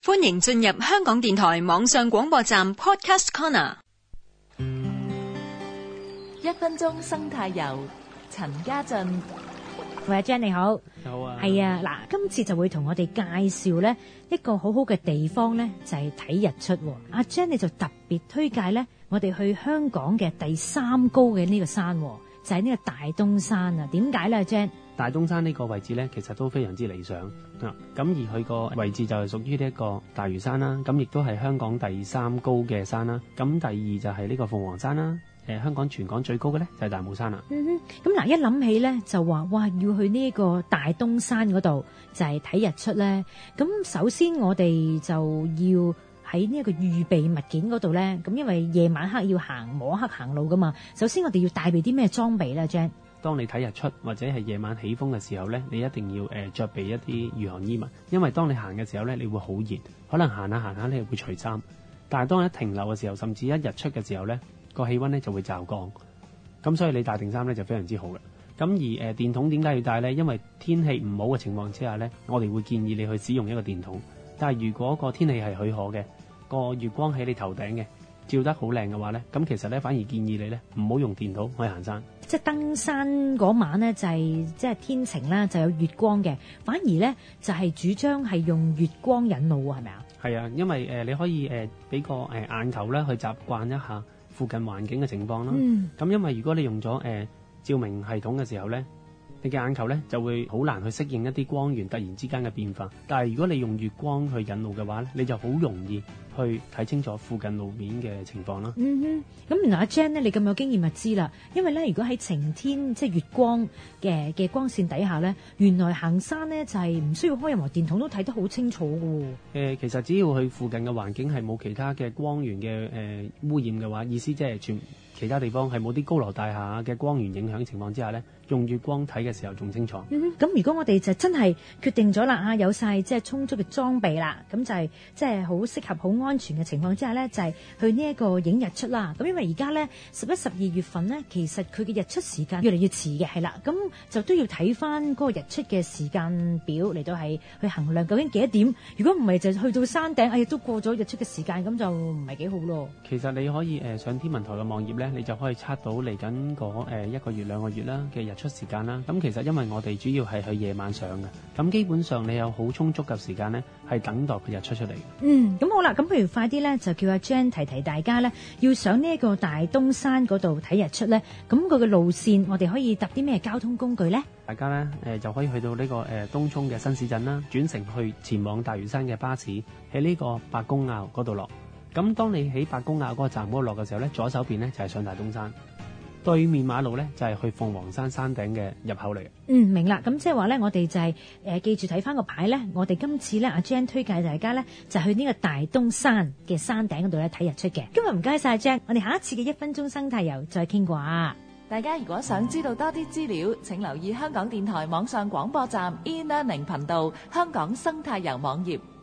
歡迎進入香港電台網上廣播站 Podcast Corner。 1分鐘生態遊，陳家俊。 喂，阿 Jan 你好。 好啊。 係啊，嗱，今次就會同我哋介紹咧一個好好嘅地方咧，就係睇日出。阿 Jan 你就特別推介咧，我哋去香港嘅第3高嘅呢個山，就係呢個大東山啊。點解咧，阿 Jan？ 大東山呢個位置咧，其實都非常之理想啊。咁而佢個位置就係屬於呢一個大嶼山啦，咁亦都係香港第3高嘅山啦。咁第2就係呢個鳳凰山啦。香港全港最高嘅咧就係大帽山啦。 咁嗱，一諗起咧就話哇，要去呢個大東山嗰度就係睇日出咧。咁首先我哋就要喺呢一個預備物件嗰度咧，咁因為夜晚黑要摸黑行路噶嘛。首先我哋要帶備啲咩裝備咧 ，Jan？ 當你睇日出或者係夜晚起風嘅時候咧，你一定要着備一啲御寒衣物，因為當你行嘅時候咧，你會好熱，可能行下你會除衫。但係當你一停留嘅時候，甚至一日出嘅時候咧，個氣溫咧就會驟降。咁所以你帶定衫咧就非常之好嘅。咁而電筒點解要帶咧？因為天氣唔好嘅情況之下咧，我哋會建議你去使用一個電筒。但係如果個天氣係許可嘅，個月光喺你頭頂嘅，照得好靚嘅話咧，咁其實咧反而建議你咧唔好用電筒去行山。 即係登山嗰晚咧就係即係天晴啦，就有月光嘅。反而咧就係主張係用月光引路喎，係咪啊？係啊，因為你可以俾個眼球咧去習慣一下附近環境嘅情況啦。咁因為如果你用咗照明系統嘅時候咧，你嘅眼球咧就會好難去適應一啲光源突然之間嘅變化。但係如果你用月光去引路嘅話咧，你就好容易去睇清楚附近路面嘅情況啦。 咁原來阿 Jan 咧，你咁有經驗就知啦。因為咧，如果喺晴天即係月光嘅光線底下咧，原來行山咧就係唔需要開任何電筒都睇得好清楚嘅。 其實只要佢附近嘅環境係冇其他嘅光源嘅污染嘅話，意思即係其他地方係冇啲高樓大廈嘅光源影響情況之下咧，用月光睇嘅時候仲清楚。 咁如果我哋就真係決定咗啦，有晒即係充足嘅裝備啦，咁就係即係好適合、好安全嘅情況之下咧，就係去呢一個影日出啦。咁因為而家咧11、12月份咧，其實佢嘅日出時間越嚟越遲嘅，係啦，咁就都要睇翻嗰個日出嘅時間表嚟到係去衡量究竟幾多點。如果唔係就去到山頂，都過咗日出嘅時間，咁就唔係幾好咯。 其實你可以上天文台嘅網頁咧，你就可以測到嚟緊嗰1個月、2個月啦嘅日出時間啦。咁其實因為我哋主要係去夜晚上嘅，咁基本上你有好充足嘅時間咧，係等待佢日出出嚟。 咁好啦，咁不如快啲咧，就叫阿 Jan 提大家咧，要上呢一個大東山嗰度睇日出咧。咁佢嘅路線，我哋可以搭啲咩交通工具咧？ 大家咧就可以去到呢個東涌嘅新市鎮啦，轉乘去前往大嶼山嘅巴士，喺呢個白公坳嗰度落。咁當你喺白公坳嗰個站嗰度落嘅時候咧，左手邊咧就係上大東山，對面馬路咧就係去鳳凰山山頂嘅入口嚟嘅。 明啦。咁即係話咧，我哋就係記住睇翻個牌咧。我哋今次咧，阿 Jan 推介大家咧就去呢個大東山嘅山頂嗰度咧睇日出嘅。今日唔該晒 Jan，我哋下一次嘅1分鐘生態遊再傾過啊。 大家如果想知道多啲資料，請留意香港電台網上廣播站 e-learning 頻道香港生態遊網頁。